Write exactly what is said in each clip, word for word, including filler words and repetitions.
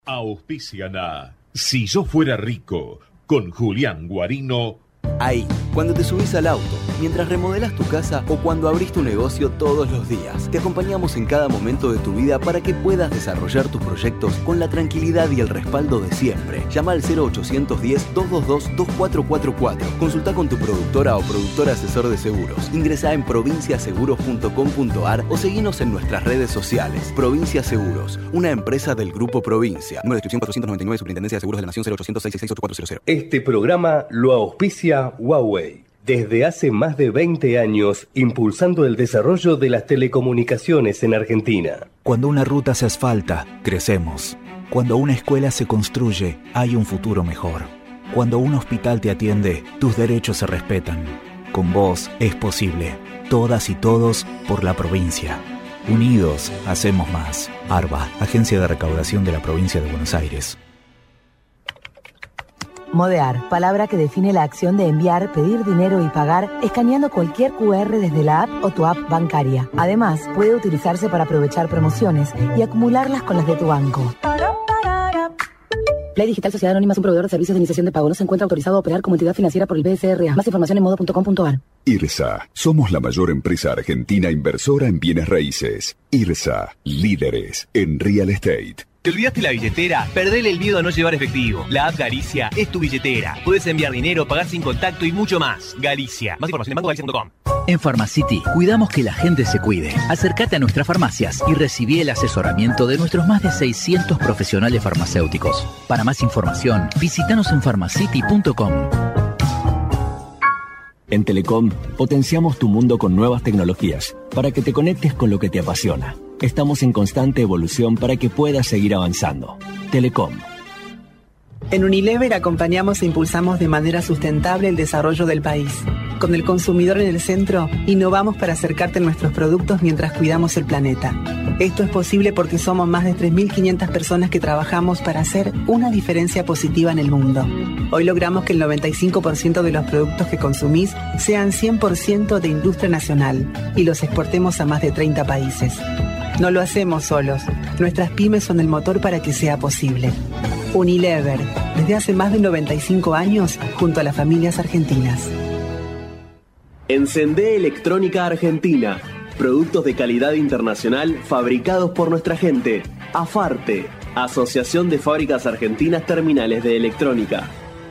Auspician a Si yo fuera rico, con Julián Guarino. Ahí, cuando te subís al auto, mientras remodelas tu casa o cuando abrís tu negocio todos los días, te acompañamos en cada momento de tu vida para que puedas desarrollar tus proyectos con la tranquilidad y el respaldo de siempre. Llama al cero ochocientos diez, doscientos veintidós, veinticuatro cuarenta y cuatro. Consulta con tu productora o productor asesor de seguros. Ingresá en provincia seguros punto com punto a r o seguinos en nuestras redes sociales. Provincia Seguros, una empresa del Grupo Provincia. Número de inscripción cuatrocientos noventa y nueve, Superintendencia de Seguros de la Nación, cero ochocientos seiscientos sesenta y seis, ocho cuatro cero cero. Este programa lo auspicia Huawei. Desde hace más de veinte años, impulsando el desarrollo de las telecomunicaciones en Argentina. Cuando una ruta se asfalta, crecemos. Cuando una escuela se construye, hay un futuro mejor. Cuando un hospital te atiende, tus derechos se respetan. Con vos es posible. Todas y todos por la provincia. Unidos, hacemos más. ARBA, Agencia de Recaudación de la Provincia de Buenos Aires. Modear, palabra que define la acción de enviar, pedir dinero y pagar escaneando cualquier cu erre desde la app o tu app bancaria. Además, puede utilizarse para aprovechar promociones y acumularlas con las de tu banco. Play Digital Sociedad Anónima es un proveedor de servicios de iniciación de pago. No se encuentra autorizado a operar como entidad financiera por el B S R A. Más información en modo punto com punto a r. IRSA. Somos la mayor empresa argentina inversora en bienes raíces. IRSA. Líderes en real estate. ¿Te olvidaste la billetera? Perdele el miedo a no llevar efectivo. La app Galicia es tu billetera. Puedes enviar dinero, pagar sin contacto y mucho más. Galicia. Más información en banco galicia punto com. En Pharmacity cuidamos que la gente se cuide. Acércate a nuestras farmacias y recibí el asesoramiento de nuestros más de seiscientos profesionales farmacéuticos. Para más información, visítanos en pharmacity punto com. En Telecom, potenciamos tu mundo con nuevas tecnologías para que te conectes con lo que te apasiona. Estamos en constante evolución para que puedas seguir avanzando. Telecom. En Unilever acompañamos e impulsamos de manera sustentable el desarrollo del país. Con el consumidor en el centro, innovamos para acercarte a nuestros productos mientras cuidamos el planeta. Esto es posible porque somos más de tres mil quinientas personas que trabajamos para hacer una diferencia positiva en el mundo. Hoy logramos que el noventa y cinco por ciento de los productos que consumís sean cien por ciento de industria nacional y los exportemos a más de treinta países. No lo hacemos solos. Nuestras pymes son el motor para que sea posible. Unilever, desde hace más de noventa y cinco años, junto a las familias argentinas. Encendé Electrónica Argentina. Productos de calidad internacional fabricados por nuestra gente. AFARTE, Asociación de Fábricas Argentinas Terminales de Electrónica.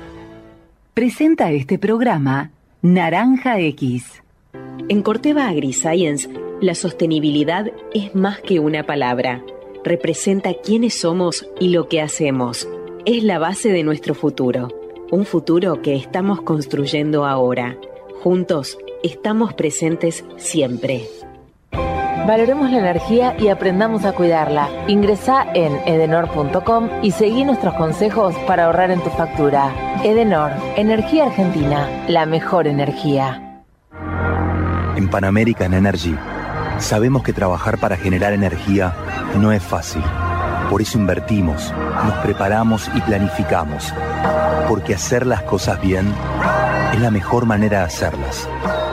Presenta este programa Naranja X. En Corteva AgriScience, la sostenibilidad es más que una palabra. Representa quiénes somos y lo que hacemos. Es la base de nuestro futuro. Un futuro que estamos construyendo ahora. Juntos, estamos presentes siempre. Valoremos la energía y aprendamos a cuidarla. Ingresá en edenor punto com y seguí nuestros consejos para ahorrar en tu factura. Edenor, Energía Argentina, la mejor energía. En Pan American Energy, sabemos que trabajar para generar energía no es fácil. Por eso invertimos, nos preparamos y planificamos. Porque hacer las cosas bien es la mejor manera de hacerlas.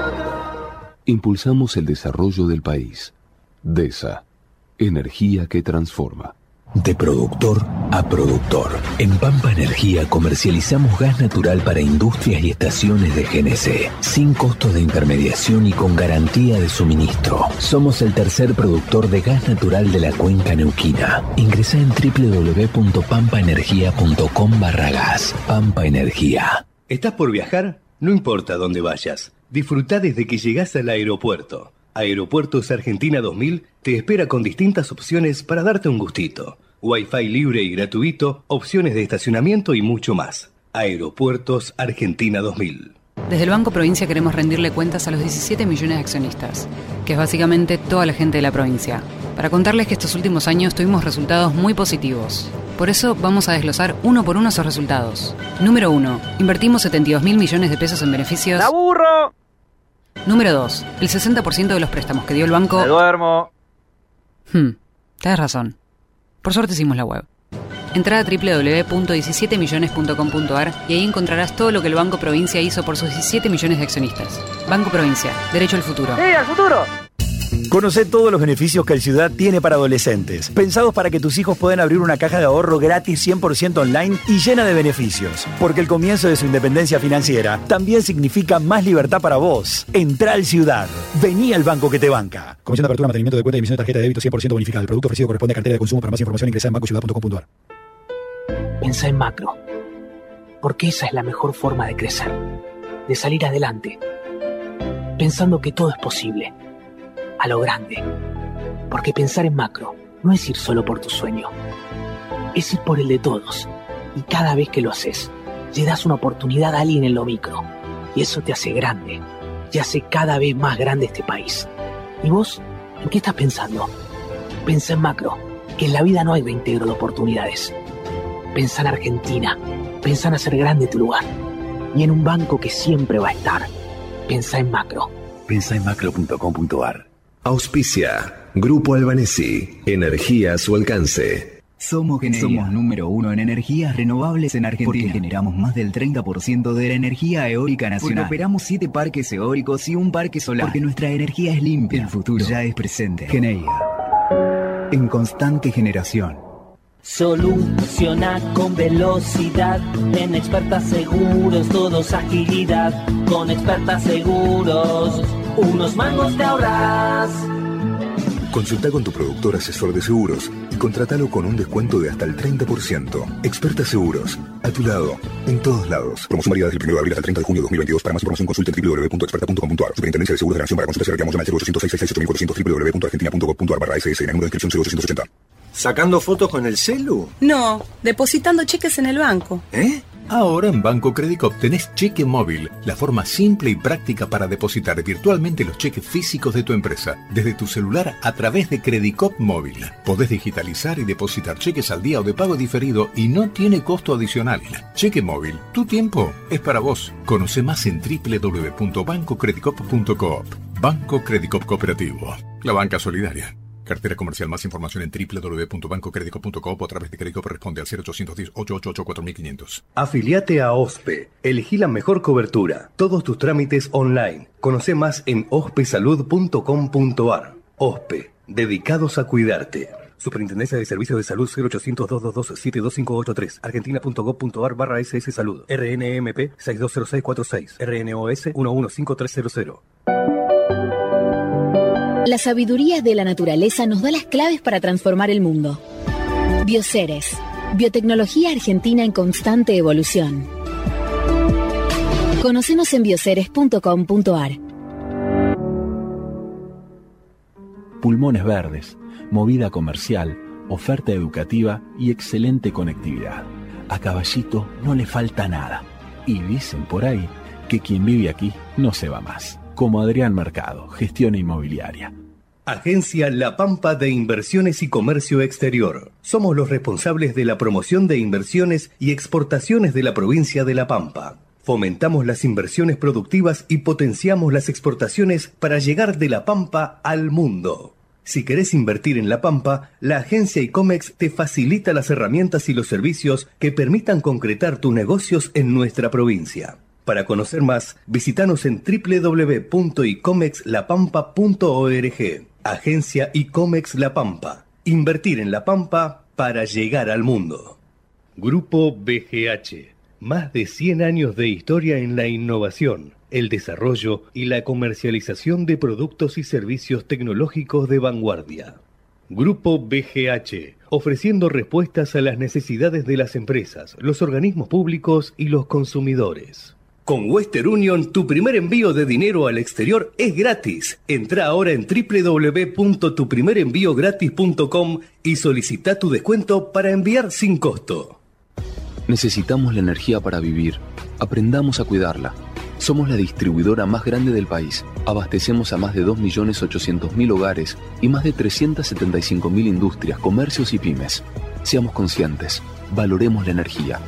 Impulsamos el desarrollo del país. DESA. Energía que transforma. De productor a productor. En Pampa Energía comercializamos gas natural para industrias y estaciones de G N C, sin costos de intermediación y con garantía de suministro. Somos el tercer productor de gas natural de la cuenca neuquina. Ingresá en doble u doble u doble u punto pampa energía punto com barra gas. Pampa Energía. ¿Estás por viajar? No importa dónde vayas. Disfrutá desde que llegás al aeropuerto. Aeropuertos Argentina dos mil te espera con distintas opciones para darte un gustito. Wi-Fi libre y gratuito, opciones de estacionamiento y mucho más. Aeropuertos Argentina dos mil. Desde el Banco Provincia queremos rendirle cuentas a los diecisiete millones de accionistas, que es básicamente toda la gente de la provincia, para contarles que estos últimos años tuvimos resultados muy positivos. Por eso vamos a desglosar uno por uno esos resultados. Número uno. Invertimos setenta y dos mil millones de pesos en beneficios. ¡La burro! Número dos. El sesenta por ciento de los préstamos que dio el banco... ¡Me duermo! Hmm, tenés razón. Por suerte hicimos la web. Entrá a doble u doble u doble u punto diecisiete millones punto com punto a r y ahí encontrarás todo lo que el Banco Provincia hizo por sus diecisiete millones de accionistas. Banco Provincia. Derecho al futuro. ¡Sí, al futuro! Conocé todos los beneficios que el Ciudad tiene para adolescentes, pensados para que tus hijos puedan abrir una caja de ahorro gratis cien por ciento online y llena de beneficios. Porque el comienzo de su independencia financiera también significa más libertad para vos. Entrá al Ciudad. Vení al banco que te banca. Comisión de apertura, mantenimiento de cuenta y emisión de tarjeta de débito cien por ciento bonificada. El producto ofrecido corresponde a cartera de consumo. Para más información ingresa en banco ciudad punto com punto a r. Pensá en macro. Porque esa es la mejor forma de crecer. De salir adelante. Pensando que todo es posible. A lo grande. Porque pensar en macro no es ir solo por tu sueño. Es ir por el de todos. Y cada vez que lo haces, le das una oportunidad a alguien en lo micro. Y eso te hace grande. Y hace cada vez más grande este país. ¿Y vos? ¿En qué estás pensando? Pensá en macro. Que en la vida no hay reintegro de oportunidades. Pensá en Argentina. Pensá en hacer grande tu lugar. Y en un banco que siempre va a estar. Pensá en macro. Pensá en macro punto com punto a r. Auspicia. Grupo Albanesi. Energía a su alcance. Somos Generia. Somos número uno en energías renovables en Argentina. Porque generamos más del treinta por ciento de la energía eólica nacional. Porque operamos siete parques eólicos y un parque solar. Porque nuestra energía es limpia. El futuro ya es presente. Generia. En constante generación. Soluciona con velocidad. En Experta Seguros, todos agilidad. Con Experta Seguros, unos mangos te ahorras. Consulta con tu productor asesor de seguros y contratalo con un descuento de hasta el treinta por ciento. Experta Seguros, a tu lado, en todos lados. Promoción válida desde el primero de abril hasta el treinta de junio de dos mil veintidós. Para más información consulta en w w w punto experta punto com punto a r. Superintendencia de Seguros de la Nación. Para consultas y reclamos llama al cero ochocientos seis seis seis ocho mil cuatrocientos w w w punto argentina punto gov punto a r barra s s. En el número de inscripción cero ochocientos ochenta. ¿Sacando fotos con el celu? No, depositando cheques en el banco. ¿Eh? Ahora en Banco Credicop tenés cheque móvil, la forma simple y práctica para depositar virtualmente los cheques físicos de tu empresa, desde tu celular a través de Credicop Móvil. Podés digitalizar y depositar cheques al día o de pago diferido y no tiene costo adicional. Cheque móvil, tu tiempo es para vos. Conoce más en w w w punto banco credicop punto coop. Banco Credicop Cooperativo, la banca solidaria. Cartera comercial. Más información en w w w punto banco credicop punto coop o a través de Credicop responde al cero ochocientos diez, ochocientos ochenta y ocho, cuatro mil quinientos. Afiliate a OSPE. Elegí la mejor cobertura. Todos tus trámites online. Conoce más en ospe salud punto com punto a r. OSPE. Dedicados a cuidarte. Superintendencia de Servicios de Salud cero ochocientos, dos dos dos, siete dos cinco ocho tres. Argentina punto gov punto a r barra S S Salud. R N M P seis dos cero seis cuatro seis. R N O S uno uno cinco tres cero cero. La sabiduría de la naturaleza nos da las claves para transformar el mundo. Bioceres, biotecnología argentina en constante evolución. Conocenos en bioceres punto com punto a r. Pulmones verdes, movida comercial, oferta educativa y excelente conectividad. A Caballito no le falta nada. Y dicen por ahí que quien vive aquí no se va más. Como Adrián Mercado, gestión inmobiliaria. Agencia La Pampa de Inversiones y Comercio Exterior. Somos los responsables de la promoción de inversiones y exportaciones de la provincia de La Pampa. Fomentamos las inversiones productivas y potenciamos las exportaciones para llegar de La Pampa al mundo. Si querés invertir en La Pampa, la agencia ICOMEX te facilita las herramientas y los servicios que permitan concretar tus negocios en nuestra provincia. Para conocer más, visítanos en w w w punto icomex la pampa punto org. Agencia ICOMEX La Pampa. Invertir en La Pampa para llegar al mundo. Grupo B G H. Más de cien años de historia en la innovación, el desarrollo y la comercialización de productos y servicios tecnológicos de vanguardia. Grupo B G H, ofreciendo respuestas a las necesidades de las empresas, los organismos públicos y los consumidores. Con Western Union, tu primer envío de dinero al exterior es gratis. Entra ahora en w w w punto tu primer envío gratis punto com y solicita tu descuento para enviar sin costo. Necesitamos la energía para vivir. Aprendamos a cuidarla. Somos la distribuidora más grande del país. Abastecemos a más de dos millones ochocientos mil hogares y más de trescientas setenta y cinco mil industrias, comercios y pymes. Seamos conscientes. Valoremos la energía.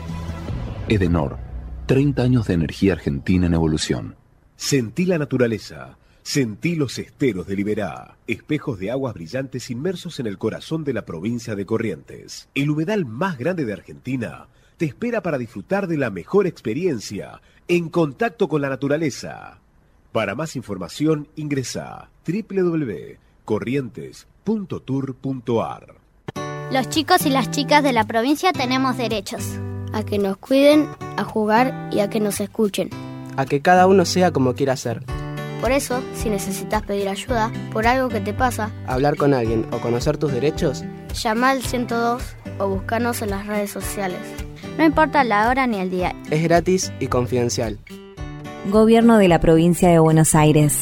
Edenor. treinta años de energía argentina en evolución. Sentí la naturaleza. Sentí los esteros de Liberá, espejos de aguas brillantes inmersos en el corazón de la provincia de Corrientes. El humedal más grande de Argentina te espera para disfrutar de la mejor experiencia en contacto con la naturaleza. Para más información ingresa a w w w punto corrientes punto tour punto ar. Los chicos y las chicas de la provincia tenemos derechos. A que nos cuiden, a jugar y a que nos escuchen. A que cada uno sea como quiera ser. Por eso, si necesitas pedir ayuda por algo que te pasa, hablar con alguien o conocer tus derechos, llama al ciento dos o búscanos en las redes sociales. No importa la hora ni el día. Es gratis y confidencial. Gobierno de la Provincia de Buenos Aires.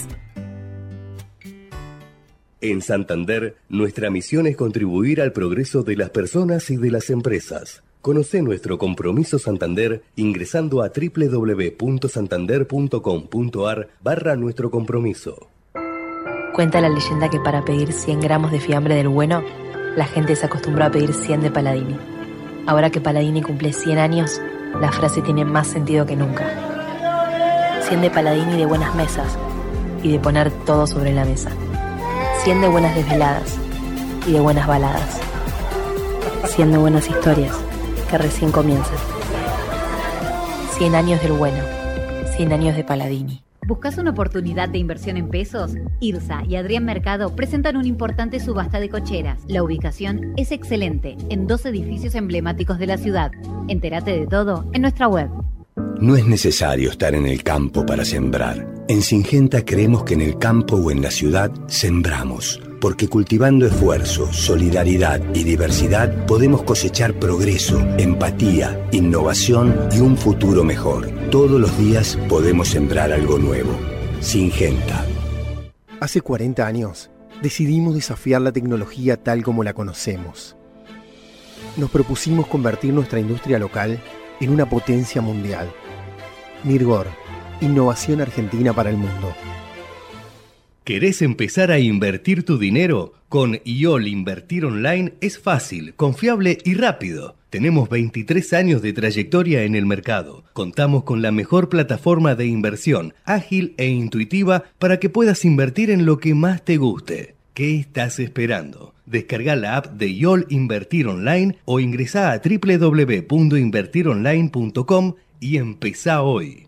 En Santander, nuestra misión es contribuir al progreso de las personas y de las empresas. Conoce nuestro compromiso Santander ingresando a doble u doble u doble u punto santander punto com punto ar barra nuestro compromiso. Cuenta la leyenda que para pedir cien gramos de fiambre del bueno, la gente se acostumbró a pedir cien de Paladini. Ahora que Paladini cumple cien años, la frase tiene más sentido que nunca. cien de Paladini de buenas mesas y de poner todo sobre la mesa. cien de buenas desveladas y de buenas baladas. cien de buenas historias que recién comienzan. cien años del bueno. cien años de Paladini. ¿Buscas una oportunidad de inversión en pesos? IRSA y Adrián Mercado presentan una importante subasta de cocheras. La ubicación es excelente, en dos edificios emblemáticos de la ciudad. Entérate de todo en nuestra web. No es necesario estar en el campo para sembrar. En Syngenta creemos que en el campo o en la ciudad sembramos, porque cultivando esfuerzo, solidaridad y diversidad podemos cosechar progreso, empatía, innovación y un futuro mejor. Todos los días podemos sembrar algo nuevo. Syngenta. Hace cuarenta años decidimos desafiar la tecnología tal como la conocemos. Nos propusimos convertir nuestra industria local en una potencia mundial. Mirgor, innovación argentina para el mundo. ¿Querés empezar a invertir tu dinero? Con I O L Invertir Online es fácil, confiable y rápido. Tenemos veintitrés años de trayectoria en el mercado. Contamos con la mejor plataforma de inversión, ágil e intuitiva para que puedas invertir en lo que más te guste. ¿Qué estás esperando? Descarga la app de I O L Invertir Online o ingresá a doble u doble u doble u punto invertir online punto com y empezá hoy.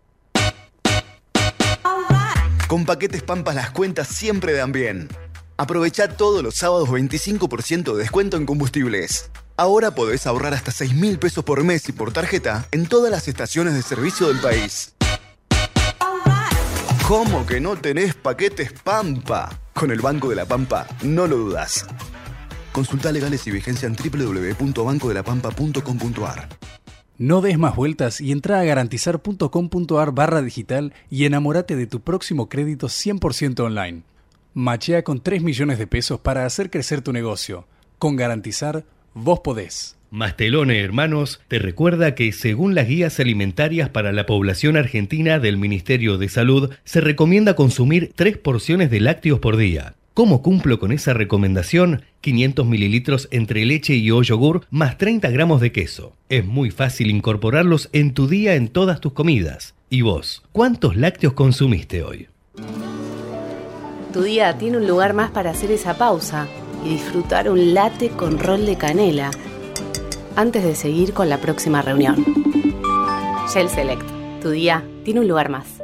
Con Paquetes Pampa las cuentas siempre dan bien. Aprovechá todos los sábados veinticinco por ciento de descuento en combustibles. Ahora podés ahorrar hasta seis mil pesos por mes y por tarjeta en todas las estaciones de servicio del país. ¿Cómo que no tenés Paquetes Pampa? Con el Banco de la Pampa no lo dudas. Consulta legales y vigencia en doble u doble u doble u punto banco de la pampa punto com punto ar. No des más vueltas y entra a garantizar punto com punto ar barra digital y enamórate de tu próximo crédito cien por ciento online. Machea con tres millones de pesos para hacer crecer tu negocio. Con Garantizar, vos podés. Mastelone Hermanos te recuerda que según las guías alimentarias para la población argentina del Ministerio de Salud, se recomienda consumir tres porciones de lácteos por día. ¿Cómo cumplo con esa recomendación? quinientos mililitros entre leche y o yogur más treinta gramos de queso. Es muy fácil incorporarlos en tu día en todas tus comidas. ¿Y vos? ¿Cuántos lácteos consumiste hoy? Tu día tiene un lugar más para hacer esa pausa y disfrutar un latte con rol de canela antes de seguir con la próxima reunión. Shell Select. Tu día tiene un lugar más.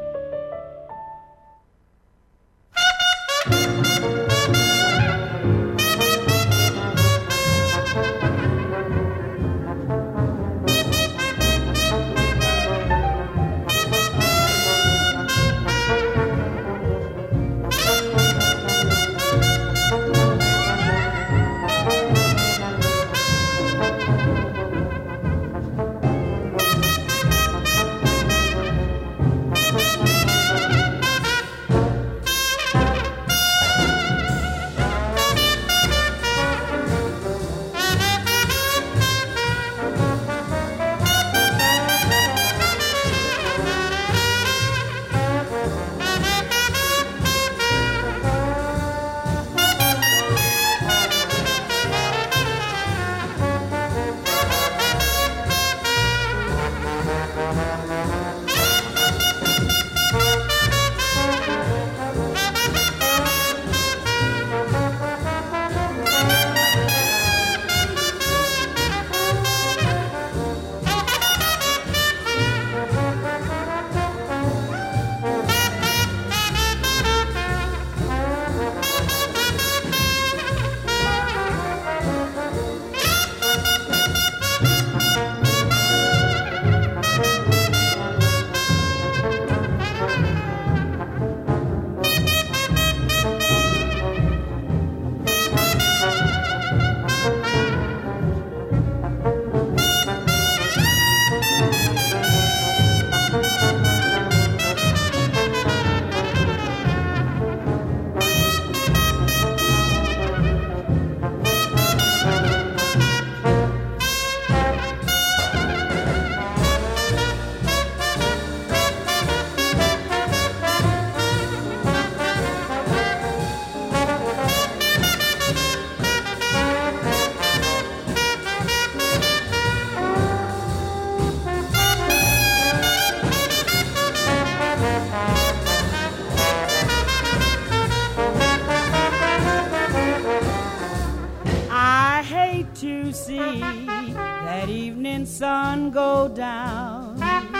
sun go down.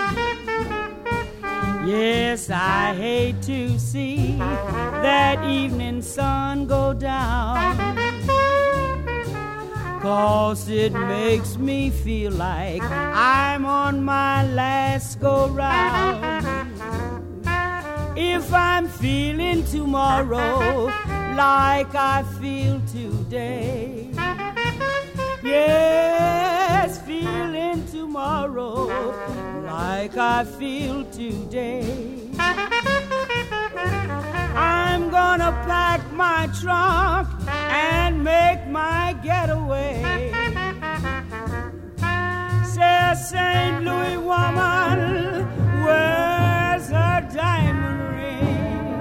Yes, I hate to see that evening sun go down, 'cause it makes me feel like I'm on my last go-round. If I'm feeling tomorrow like I feel today, yes, feeling tomorrow like I feel today, I'm gonna pack my trunk and make my getaway. Says Saint Louis woman, where's her diamond ring?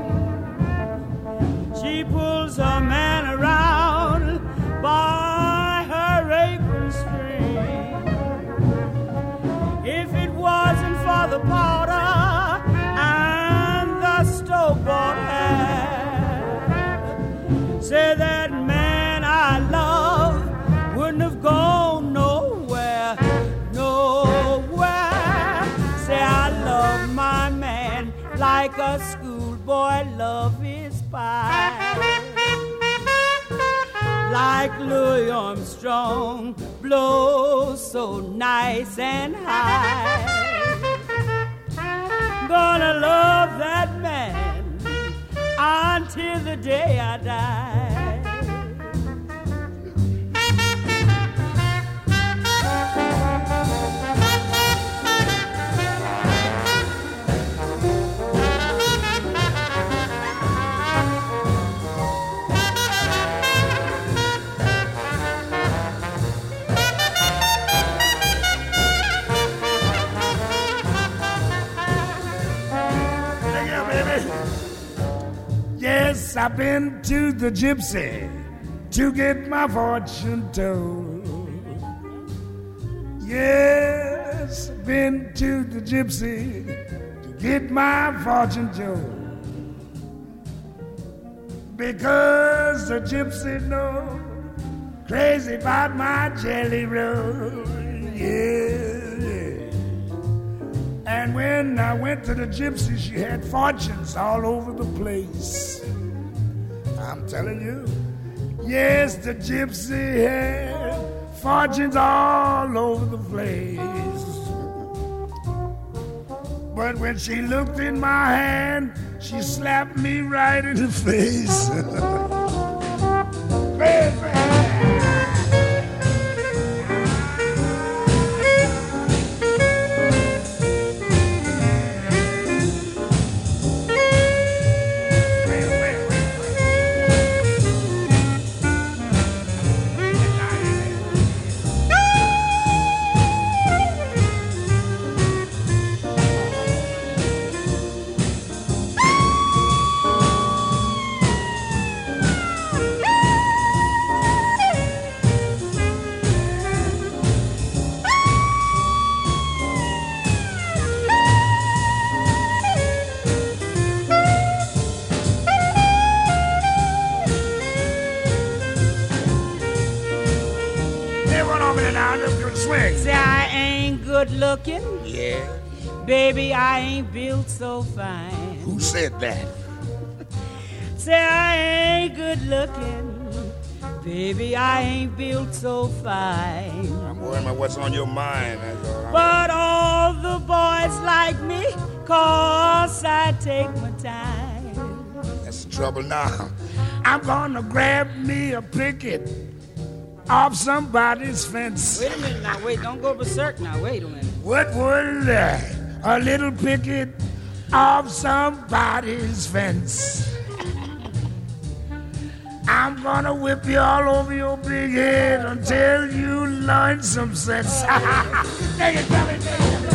She pulls her man around by her apron string. If it wasn't for the powder and the store-bought hat, say that man I love wouldn't have gone nowhere, nowhere. Say I love my man like a schoolboy love his pie, like Louis Armstrong blows so nice and high. Gonna love that man until the day I die. Yes, I've been to the gypsy to get my fortune told. Yes, I've been to the gypsy to get my fortune told. Because the gypsy knows crazy about my jelly roll. Yeah. And when I went to the gypsy, she had fortunes all over the place. I'm telling you, yes, the gypsy had fortunes all over the place. But when she looked in my hand, she slapped me right in the face. Baby. Say I ain't good looking. Yeah. Baby, I ain't built so fine. Who said that? Say I ain't good looking. Baby, I ain't built so fine. I'm worrying about what's on your mind. That's all. But all the boys like me, 'cause I take my time. That's the trouble now. I'm gonna grab me a picket off somebody's fence. Wait a minute now, wait, don't go berserk now, wait a minute. What would uh, a little picket off somebody's fence? I'm gonna whip you all over your big head until you learn some sense. Take it, tell me, take it.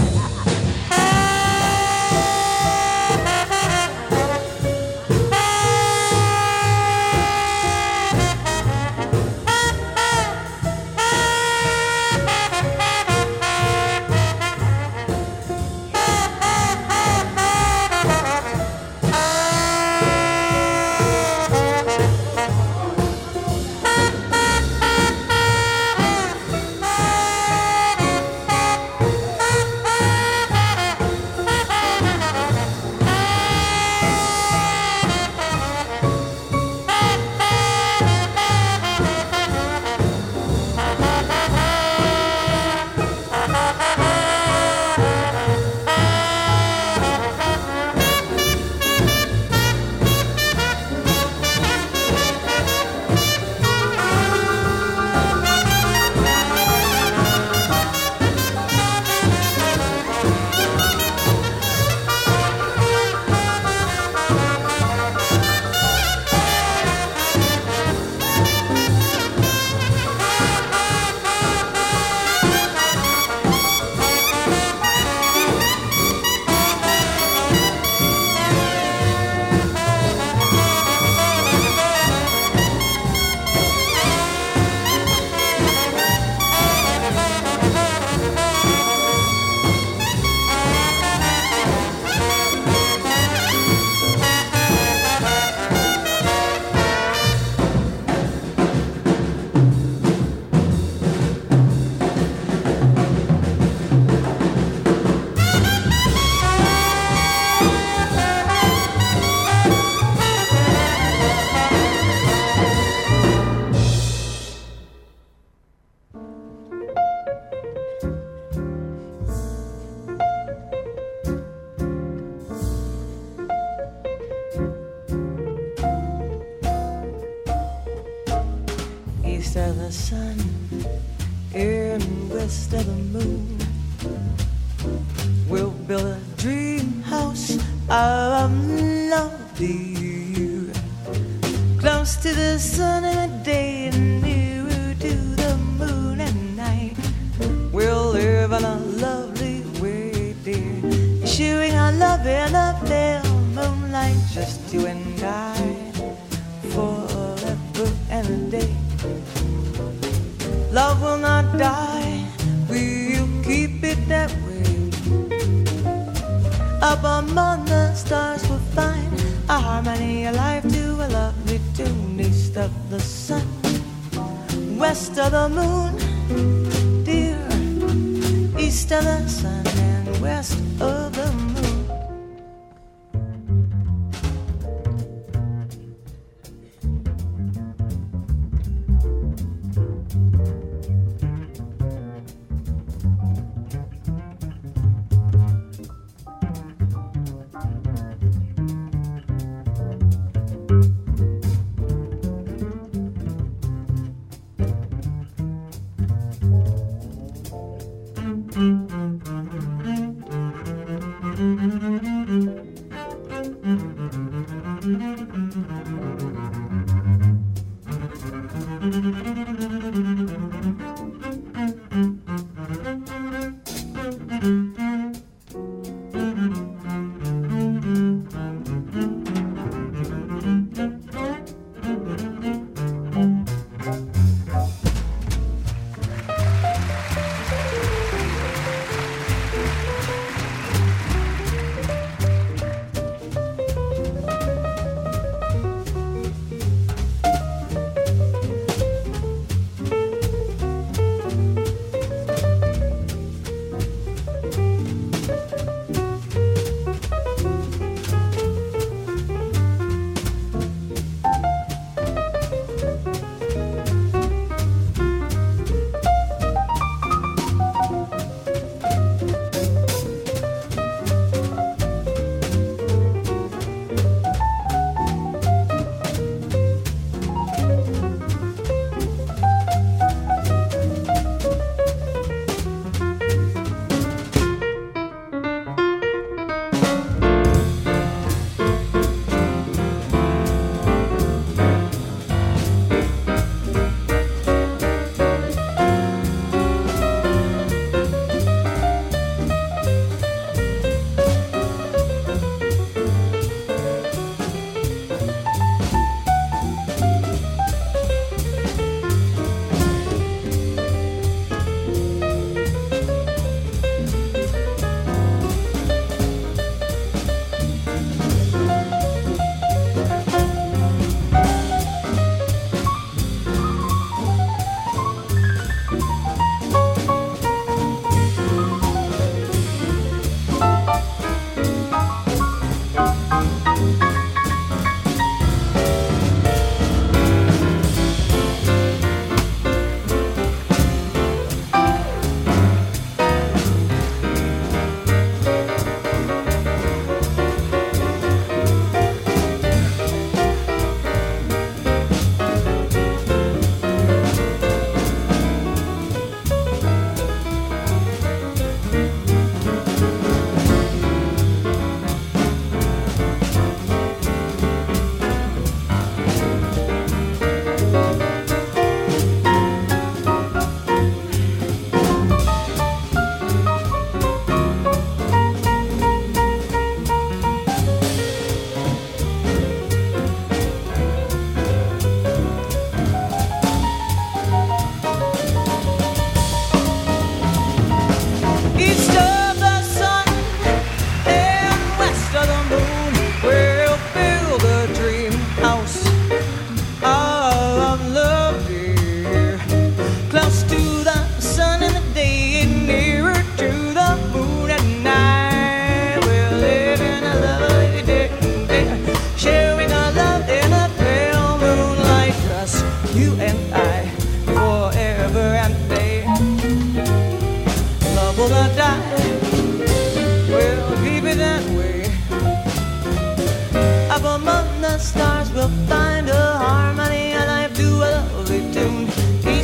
sun, in west of the moon. We'll build a dream house of love, dear, close to the sun in the day and nearer to the moon at night. We'll live in a lovely way, dear, sharing our love in the pale moonlight, just you and I, forever and a day. Love will not die, we'll keep it that way. Up among the stars we'll find a harmony, a life to a lovely tune. East of the sun, west of the moon, dear. East of the sun and west of the moon.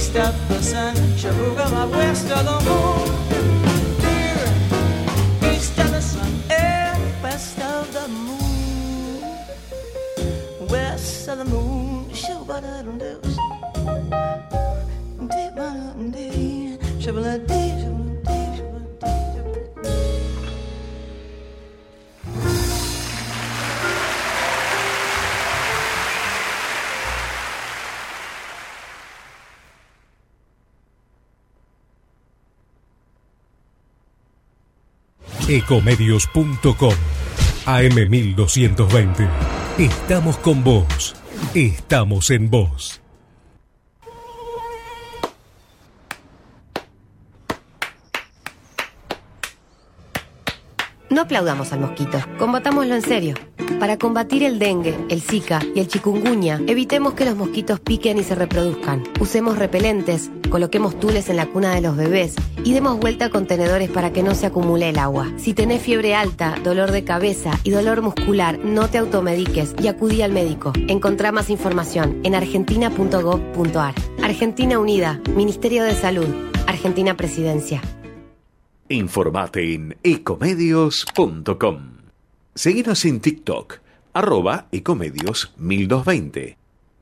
east of the sun, Shabooga, west of the moon. Here, east of the sun, and west of the moon. West of the moon, Shabooga, ecomedios punto com A M mil doscientos veinte. Estamos con vos. Estamos en vos. No aplaudamos al mosquito, combatámoslo en serio. Para combatir el dengue, el zika y el chikungunya, evitemos que los mosquitos piquen y se reproduzcan. Usemos repelentes, coloquemos tules en la cuna de los bebés y demos vuelta a contenedores para que no se acumule el agua. Si tenés fiebre alta, dolor de cabeza y dolor muscular, no te automediques y acudí al médico. Encontrá más información en argentina punto gov punto ar. Argentina Unida, Ministerio de Salud, Argentina Presidencia. Informate en ecomedios punto com. Seguinos en TikTok, arroba ecomedios mil doscientos veinte.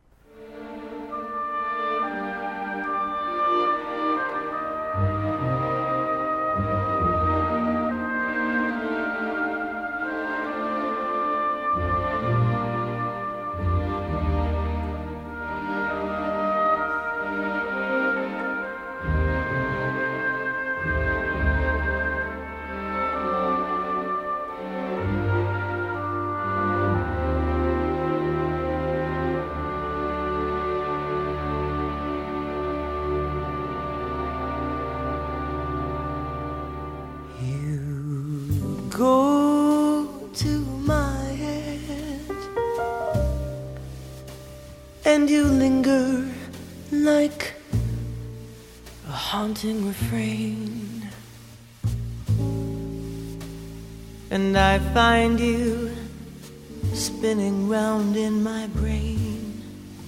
Go to my head and you linger like a haunting refrain, and I find you spinning round in my brain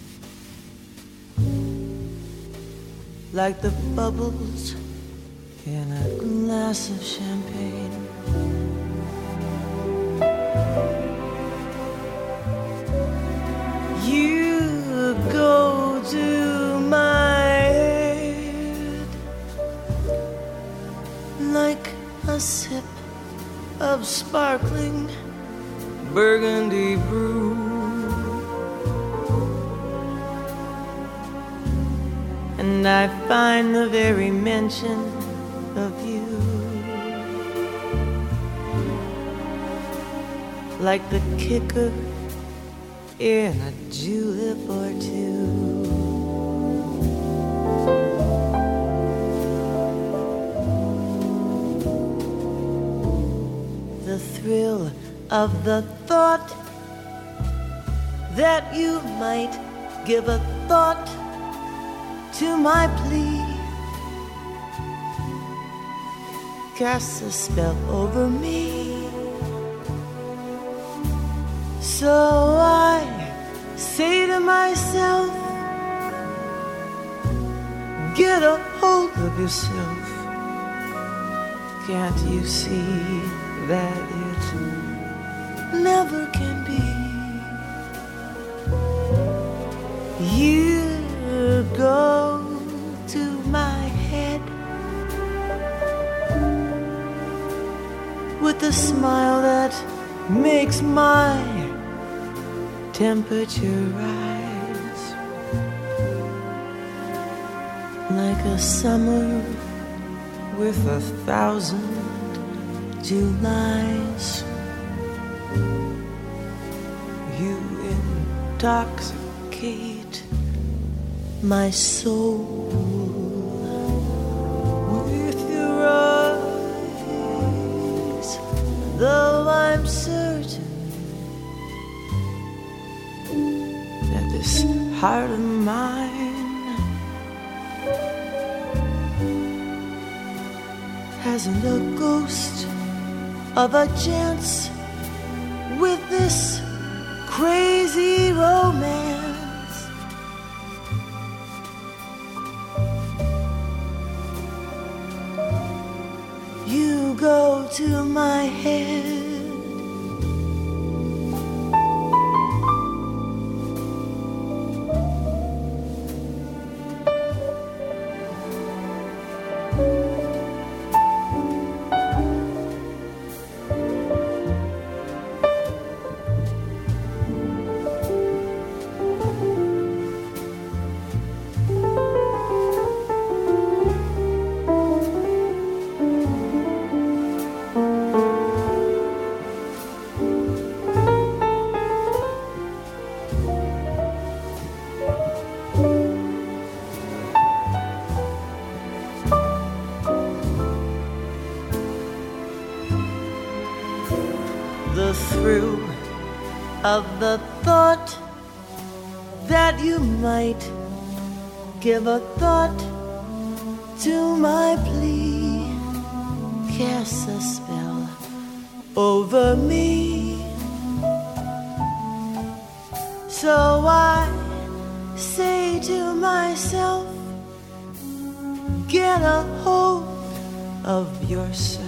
like the bubbles in a glass of champagne. You go to my head like a sip of sparkling burgundy brew, and I find the very mention of you like the kicker in a julep or two. The thrill of the thought that you might give a thought to my plea casts a spell over me. So I say to myself, get a hold of yourself. Can't you see that it never can be? You go to my head with a smile that makes my temperature rise like a summer with a thousand Julys. You intoxicate my soul with your eyes, though I'm certain that this heart of mine hasn't a ghost of a chance with this crazy romance. You go to my head. The thrill of the thought that you might give a thought to my plea, cast a spell over me. So I say to myself, get a hold of yourself.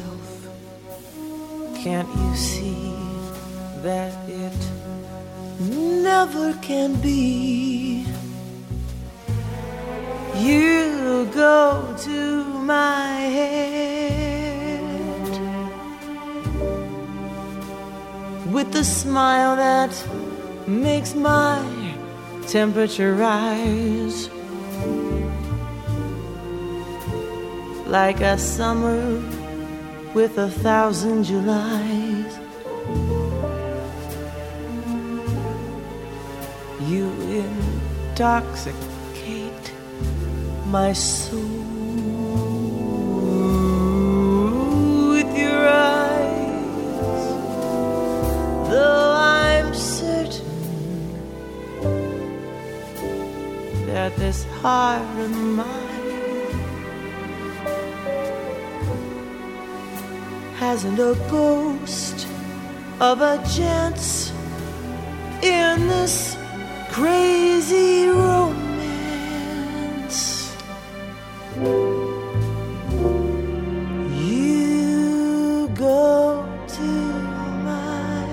Can't you see that it never can be? You go to my head with the smile that makes my temperature rise, like a summer with a thousand Julys. You intoxicate my soul with your eyes, though I'm certain that this heart of mine hasn't a ghost of a chance in this crazy romance. You go to my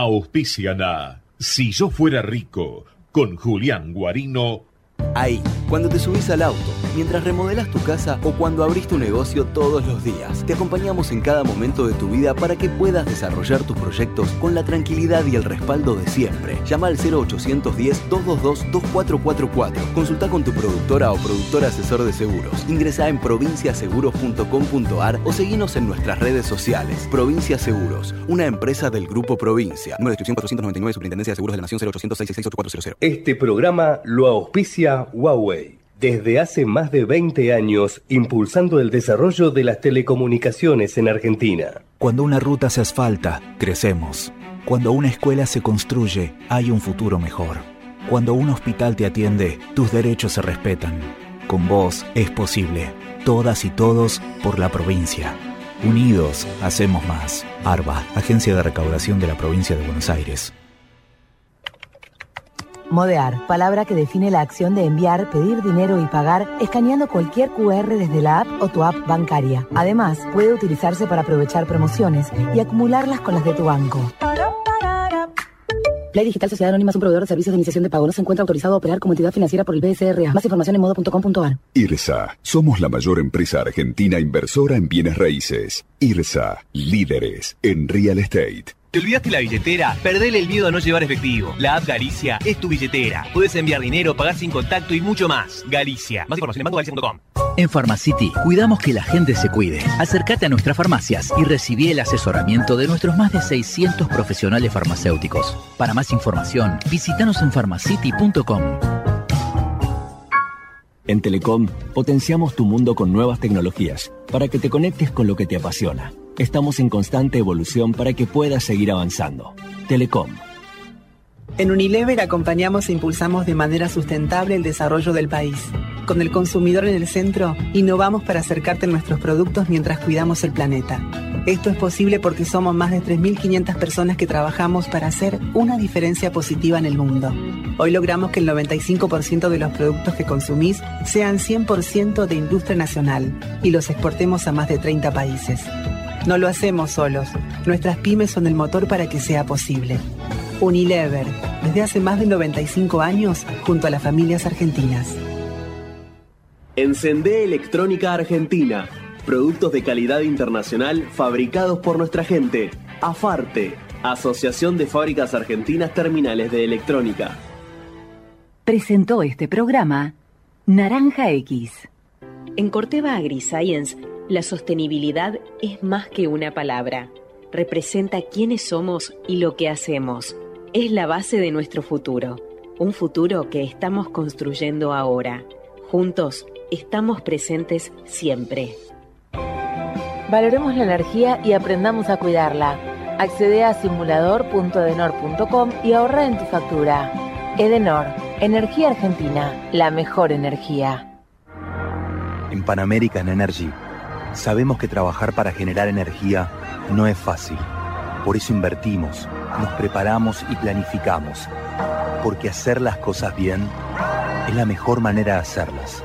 Auspician a Si yo fuera rico, con Julián Guarino. Ahí, cuando te subís al auto, mientras remodelas tu casa o cuando abrís tu negocio todos los días. Te acompañamos en cada momento de tu vida para que puedas desarrollar tus proyectos con la tranquilidad y el respaldo de siempre. Llama al cero ochocientos diez, doscientos veintidós, veinticuatro cuarenta y cuatro. Consulta con tu productora o productor asesor de seguros. Ingresá en provincia seguros punto com punto ar o seguinos en nuestras redes sociales. Provincia Seguros, una empresa del Grupo Provincia. Número de inscripción cuatrocientos noventa y nueve, Superintendencia de Seguros de la Nación, cero ochocientos seiscientos sesenta y seis ocho cuatro cero cero. Este programa lo auspicia Huawei. Desde hace más de veinte años, impulsando el desarrollo de las telecomunicaciones en Argentina. Cuando una ruta se asfalta, crecemos. Cuando una escuela se construye, hay un futuro mejor. Cuando un hospital te atiende, tus derechos se respetan. Con vos es posible. Todas y todos por la provincia. Unidos, hacemos más. ARBA, Agencia de Recaudación de la Provincia de Buenos Aires. Modear, palabra que define la acción de enviar, pedir dinero y pagar escaneando cualquier cu erre desde la app o tu app bancaria. Además, puede utilizarse para aprovechar promociones y acumularlas con las de tu banco. Play Digital Sociedad Anónima es un proveedor de servicios de iniciación de pago. No se encuentra autorizado a operar como entidad financiera por el B S R A. Más información en modo punto com punto ar. IRSA. Somos la mayor empresa argentina inversora en bienes raíces. IRSA. Líderes en real estate. ¿Te olvidaste la billetera? Perdele el miedo a no llevar efectivo. La app Galicia es tu billetera. Puedes enviar dinero, pagar sin contacto y mucho más. Galicia. Más información en banco galicia punto com. En Pharmacity cuidamos que la gente se cuide. Acércate a nuestras farmacias y recibí el asesoramiento de nuestros más de seiscientos profesionales farmacéuticos. Para más información, visítanos en pharmacity punto com. En Telecom, potenciamos tu mundo con nuevas tecnologías para que te conectes con lo que te apasiona. Estamos en constante evolución para que puedas seguir avanzando. Telecom. En Unilever acompañamos e impulsamos de manera sustentable el desarrollo del país. Con el consumidor en el centro, innovamos para acercarte a nuestros productos mientras cuidamos el planeta. Esto es posible porque somos más de tres mil quinientas personas que trabajamos para hacer una diferencia positiva en el mundo. Hoy logramos que el noventa y cinco por ciento de los productos que consumís sean cien por ciento de industria nacional y los exportemos a más de treinta países. No lo hacemos solos. Nuestras pymes son el motor para que sea posible. Unilever, desde hace más de noventa y cinco años, junto a las familias argentinas. Encendé Electrónica Argentina. Productos de calidad internacional fabricados por nuestra gente. AFARTE, Asociación de Fábricas Argentinas Terminales de Electrónica. Presentó este programa Naranja X. En Corteva AgriScience, la sostenibilidad es más que una palabra. Representa quiénes somos y lo que hacemos. Es la base de nuestro futuro. Un futuro que estamos construyendo ahora. Juntos, estamos presentes siempre. Valoremos la energía y aprendamos a cuidarla. Accede a simulador punto edenor punto com y ahorra en tu factura. Edenor, energía argentina, la mejor energía. En Pan American Energy sabemos que trabajar para generar energía no es fácil. Por eso invertimos, nos preparamos y planificamos. Porque hacer las cosas bien es la mejor manera de hacerlas.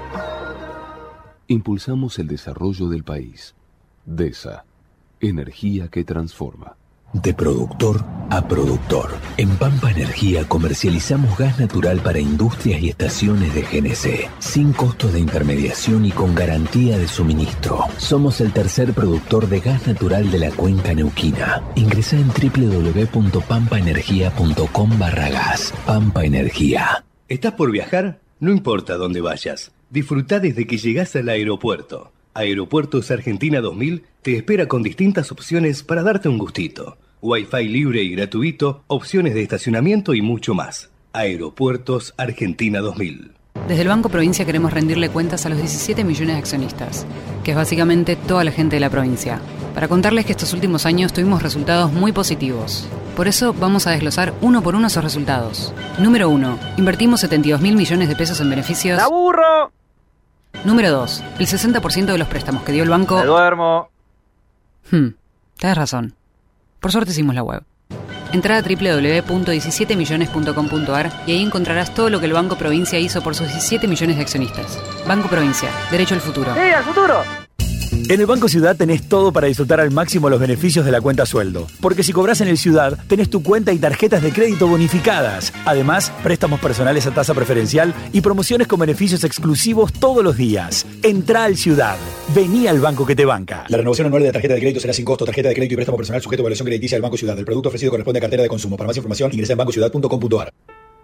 Impulsamos el desarrollo del país. DESA, energía que transforma. De productor a productor. En Pampa Energía comercializamos gas natural para industrias y estaciones de G N C, sin costos de intermediación y con garantía de suministro. Somos el tercer productor de gas natural de la cuenca neuquina. Ingresá en doble u doble u doble u punto pampa energía punto com barra gas. Pampa Energía. ¿Estás por viajar? No importa dónde vayas. Disfrutá desde que llegás al aeropuerto. Aeropuertos Argentina dos mil te espera con distintas opciones para darte un gustito. Wi-Fi libre y gratuito, opciones de estacionamiento y mucho más. Aeropuertos Argentina dos mil. Desde el Banco Provincia queremos rendirle cuentas a los diecisiete millones de accionistas, que es básicamente toda la gente de la provincia, para contarles que estos últimos años tuvimos resultados muy positivos. Por eso vamos a desglosar uno por uno esos resultados. Número uno. Invertimos setenta y dos mil millones de pesos en beneficios. ¡La burro! Número dos. El sesenta por ciento de los préstamos que dio el banco... ¡Me duermo! Hmm, tenés razón. Por suerte hicimos la web. Entrá a doble u doble u doble u punto diecisiete millones punto com punto ar y ahí encontrarás todo lo que el Banco Provincia hizo por sus diecisiete millones de accionistas. Banco Provincia, derecho al futuro. ¡Sí, al futuro! En el Banco Ciudad tenés todo para disfrutar al máximo los beneficios de la cuenta sueldo. Porque si cobras en el Ciudad, tenés tu cuenta y tarjetas de crédito bonificadas. Además, préstamos personales a tasa preferencial y promociones con beneficios exclusivos todos los días. Entrá al Ciudad. Vení al banco que te banca. La renovación anual de la tarjeta de crédito será sin costo. Tarjeta de crédito y préstamo personal sujeto a evaluación crediticia del Banco Ciudad. El producto ofrecido corresponde a cartera de consumo. Para más información, ingresa en banco ciudad punto com punto a r.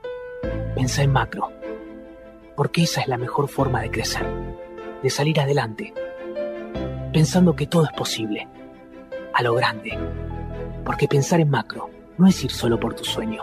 Pensá en macro. Porque esa es la mejor forma de crecer. De salir adelante. Pensando que todo es posible, a lo grande. Porque pensar en macro no es ir solo por tu sueño,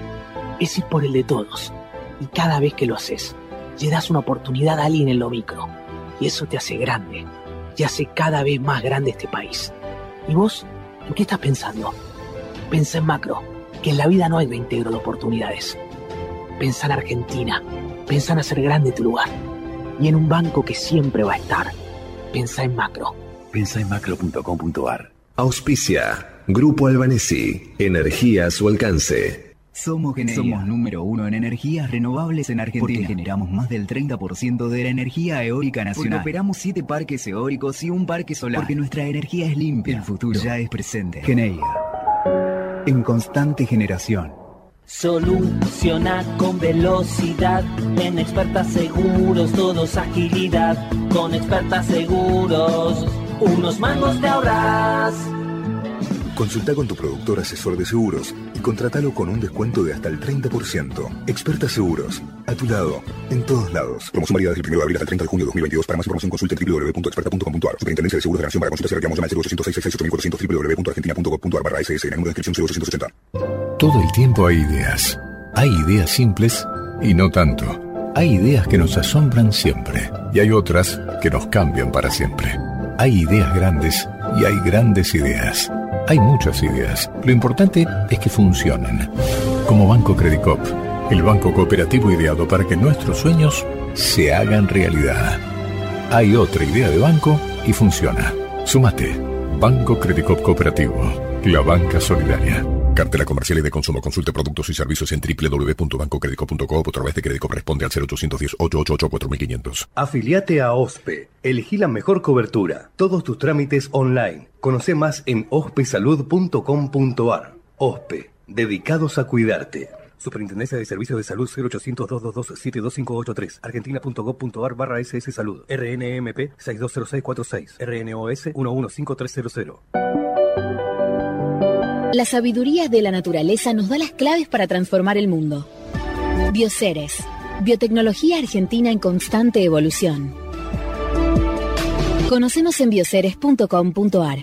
es ir por el de todos. Y cada vez que lo haces, le das una oportunidad a alguien en lo micro. Y eso te hace grande, y hace cada vez más grande este país. ¿Y vos? ¿En qué estás pensando? Pensá en macro, que en la vida no hay reintegro de oportunidades. Pensá en Argentina, pensá en hacer grande tu lugar. Y en un banco que siempre va a estar. Pensá en macro. Pensá en macro punto com punto a r. Auspicia. Grupo Albanesi. Energía a su alcance. Somos Geneia. Somos número uno en energías renovables en Argentina. Porque generamos más del treinta por ciento de la energía eólica nacional. Porque operamos siete parques eólicos y un parque solar. Porque nuestra energía es limpia. El futuro ya es presente. Geneia. En constante generación. Soluciona con velocidad, en Experta Seguros, todos agilidad. Con Experta Seguros, unos mangos te ahorras. Consulta con tu productor asesor de seguros y contratalo con un descuento de hasta el treinta por ciento. Experta Seguros, a tu lado, en todos lados. Promoción válida desde el primero de abril hasta el treinta de junio de dos mil veintidós. Para más información consulta en w w w punto experta punto com punto a r. Superintendencia de Seguros de la Nación. Para consultas y reclamos llama al cero ochocientos seis seis seis ocho mil cuatrocientos w w w punto argentina punto gov punto a r barra s s en el número de inscripción cero ochocientos ochenta. Todo el tiempo hay ideas. Hay ideas simples y no tanto. Hay ideas que nos asombran siempre y hay otras que nos cambian para siempre. Hay ideas grandes y hay grandes ideas. Hay muchas ideas. Lo importante es que funcionen. Como Banco Credicop, el banco cooperativo ideado para que nuestros sueños se hagan realidad. Hay otra idea de banco y funciona. Súmate. Banco Credicop Cooperativo. La banca solidaria. Cartela comercial y de consumo. Consulte productos y servicios en w w w punto banco credicop punto com o a través de Credicop. Responde al cero ochocientos diez, ochocientos ochenta y ocho, cuatro mil quinientos. Afiliate a OSPE. Elegí la mejor cobertura. Todos tus trámites online. Conoce más en ospe salud punto com punto a r. OSPE. Dedicados a cuidarte. Superintendencia de Servicios de Salud cero ochocientos, doscientos veintidós, setenta y cinco ochenta y tres. argentina punto gov punto a r barra S S Salud. R N M P seis dos cero seis cuatro seis. R N O S uno uno cinco tres cero cero. La sabiduría de la naturaleza nos da las claves para transformar el mundo. Bioceres, biotecnología argentina en constante evolución. Conócenos en bioceres punto com punto a r.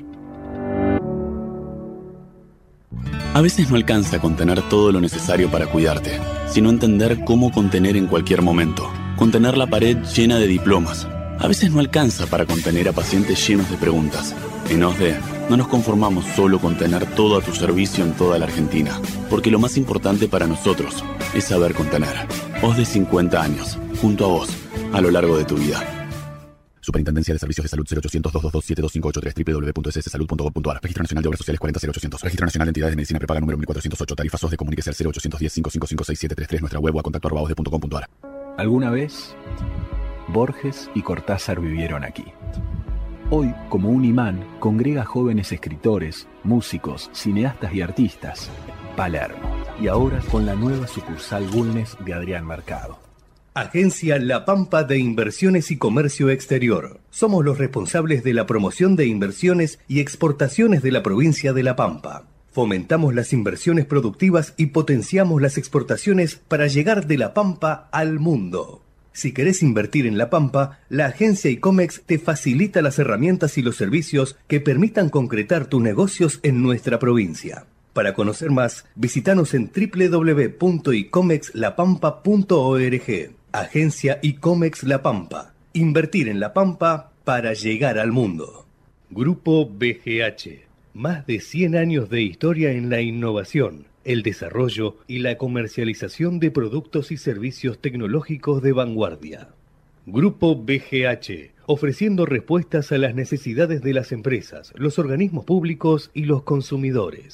A veces no alcanza contener todo lo necesario para cuidarte, sino entender cómo contener en cualquier momento. Contener la pared llena de diplomas. A veces no alcanza para contener a pacientes llenos de preguntas. En O S D E no nos conformamos solo con tener todo a tu servicio en toda la Argentina, porque lo más importante para nosotros es saber contener. O S D E cincuenta años, junto a vos, a lo largo de tu vida. Superintendencia de Servicios de Salud cero ochocientos, doscientos veintidós, setenta y cinco ochenta y tres. w w w punto s s salud punto gov punto a r. Registro Nacional de Obras Sociales cuarenta cero ochocientos. Registro Nacional de Entidades de Medicina Prepaga número mil cuatrocientos ocho. Tarifas O S D E. Comuníquese al cero ochocientos diez, cinco cinco cinco, seis siete tres tres. Nuestra web o a contacto arroba osde punto com punto a r. Alguna vez, Borges y Cortázar vivieron aquí. Hoy, como un imán, congrega jóvenes escritores, músicos, cineastas y artistas. Palermo. Y ahora con la nueva sucursal Bulnes de Adrián Mercado. Agencia La Pampa de Inversiones y Comercio Exterior. Somos los responsables de la promoción de inversiones y exportaciones de la provincia de La Pampa. Fomentamos las inversiones productivas y potenciamos las exportaciones para llegar de La Pampa al mundo. Si querés invertir en La Pampa, la agencia ICOMEX te facilita las herramientas y los servicios que permitan concretar tus negocios en nuestra provincia. Para conocer más, visítanos en w w w punto icomex la pampa punto org. Agencia ICOMEX La Pampa. Invertir en La Pampa para llegar al mundo. Grupo B G H. Más de cien años de historia en la innovación, el desarrollo y la comercialización de productos y servicios tecnológicos de vanguardia. Grupo B G H, ofreciendo respuestas a las necesidades de las empresas, los organismos públicos y los consumidores.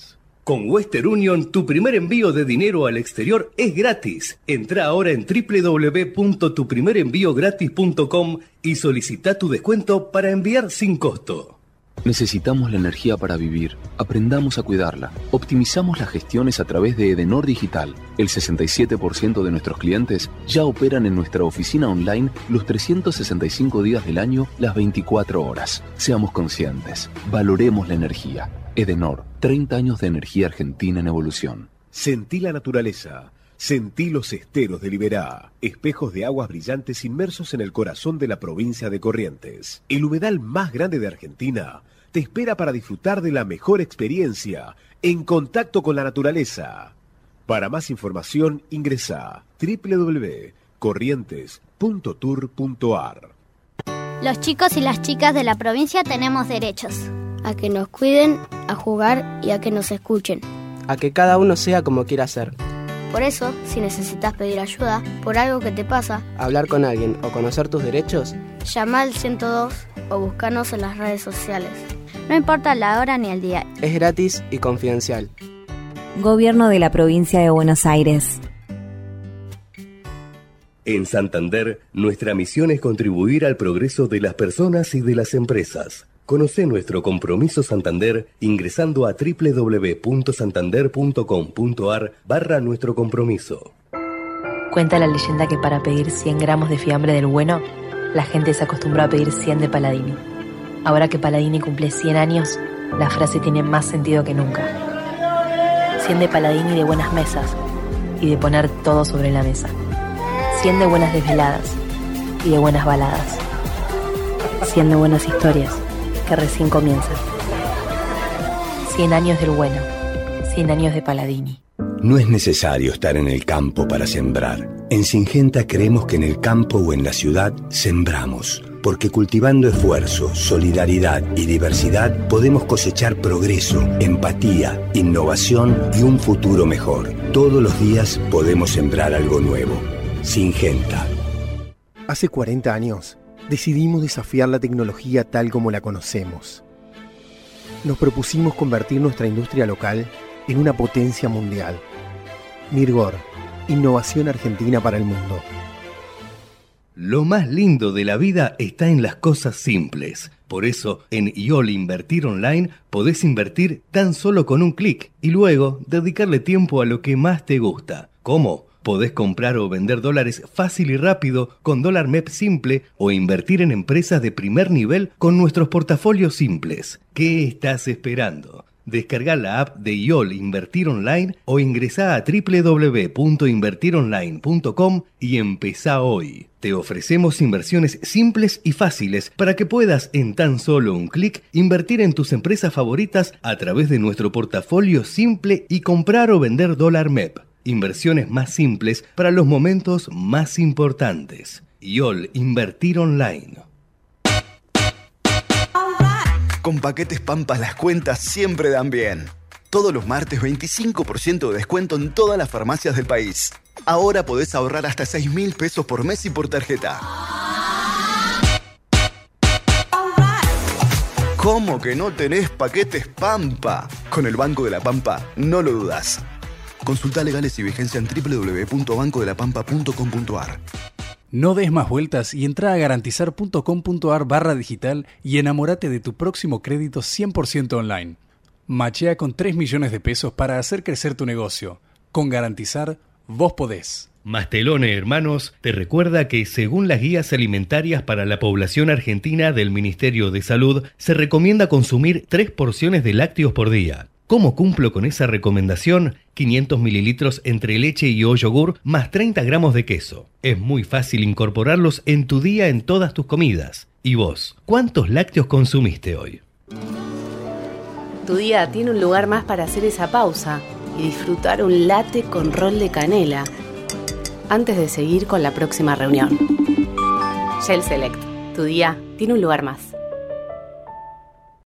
Con Western Union, tu primer envío de dinero al exterior es gratis. Entra ahora en doble u doble u doble u punto tu primer envío gratis punto com y solicita tu descuento para enviar sin costo. Necesitamos la energía para vivir. Aprendamos a cuidarla. Optimizamos las gestiones a través de Edenor Digital. El sesenta y siete por ciento de nuestros clientes ya operan en nuestra oficina online los trescientos sesenta y cinco días del año, las veinticuatro horas. Seamos conscientes. Valoremos la energía. Edenor, treinta años de energía argentina en evolución. Sentí la naturaleza. Sentí los esteros de Liberá, espejos de aguas brillantes inmersos en el corazón de la provincia de Corrientes. El humedal más grande de Argentina te espera para disfrutar de la mejor experiencia en contacto con la naturaleza. Para más información ingresa a doble u doble u doble u punto corrientes punto tour punto a r. Los chicos y las chicas de la provincia tenemos derechos. A que nos cuiden, a jugar y a que nos escuchen. A que cada uno sea como quiera ser. Por eso, si necesitas pedir ayuda por algo que te pasa, hablar con alguien o conocer tus derechos, llama al ciento dos o búscanos en las redes sociales. No importa la hora ni el día. Es gratis y confidencial. Gobierno de la Provincia de Buenos Aires. En Santander, nuestra misión es contribuir al progreso de las personas y de las empresas. Conoce nuestro compromiso Santander ingresando a doble u doble u doble u punto santander punto com punto a r barra nuestro compromiso. Cuenta la leyenda que para pedir cien gramos de fiambre del bueno, la gente se acostumbró a pedir cien de Paladini. Ahora que Paladini cumple cien años, la frase tiene más sentido que nunca. cien de Paladini de buenas mesas y de poner todo sobre la mesa. cien de buenas desveladas y de buenas baladas. cien de buenas historias que recién comienzan. cien años del bueno, cien años de Paladini. No es necesario estar en el campo para sembrar. En Singenta creemos que en el campo o en la ciudad sembramos, porque cultivando esfuerzo, solidaridad y diversidad podemos cosechar progreso, empatía, innovación y un futuro mejor. Todos los días podemos sembrar algo nuevo. Singenta. Hace cuarenta años decidimos desafiar la tecnología tal como la conocemos. Nos propusimos convertir nuestra industria local en una potencia mundial. Mirgor, innovación argentina para el mundo. Lo más lindo de la vida está en las cosas simples. Por eso, en I O L Invertir Online podés invertir tan solo con un clic y luego dedicarle tiempo a lo que más te gusta. ¿Cómo? Podés comprar o vender dólares fácil y rápido con Dólar M E P Simple o invertir en empresas de primer nivel con nuestros portafolios simples. ¿Qué estás esperando? Descarga la app de I O L Invertir Online o ingresá a doble u doble u doble u punto invertir online punto com y empezá hoy. Te ofrecemos inversiones simples y fáciles para que puedas en tan solo un clic invertir en tus empresas favoritas a través de nuestro portafolio simple y comprar o vender dólar M E P. Inversiones más simples para los momentos más importantes. I O L Invertir Online. Con Paquetes Pampa las cuentas siempre dan bien. Todos los martes veinticinco por ciento de descuento en todas las farmacias del país. Ahora podés ahorrar hasta seis mil pesos por mes y por tarjeta. ¿Cómo que no tenés Paquetes Pampa? Con el Banco de la Pampa no lo dudás. Consulta legales y vigencia en doble u doble u doble u punto banco de la pampa punto com punto a r. No des más vueltas y entra a garantizar punto com punto a r barra digital y enamórate de tu próximo crédito cien por ciento online. Machea con tres millones de pesos para hacer crecer tu negocio. Con Garantizar, vos podés. Mastelone Hermanos te recuerda que según las guías alimentarias para la población argentina del Ministerio de Salud, se recomienda consumir tres porciones de lácteos por día. ¿Cómo cumplo con esa recomendación? quinientos mililitros entre leche y o yogur más treinta gramos de queso. Es muy fácil incorporarlos en tu día en todas tus comidas. ¿Y vos? ¿Cuántos lácteos consumiste hoy? Tu día tiene un lugar más para hacer esa pausa y disfrutar un latte con rol de canela antes de seguir con la próxima reunión. Shell Select. Tu día tiene un lugar más.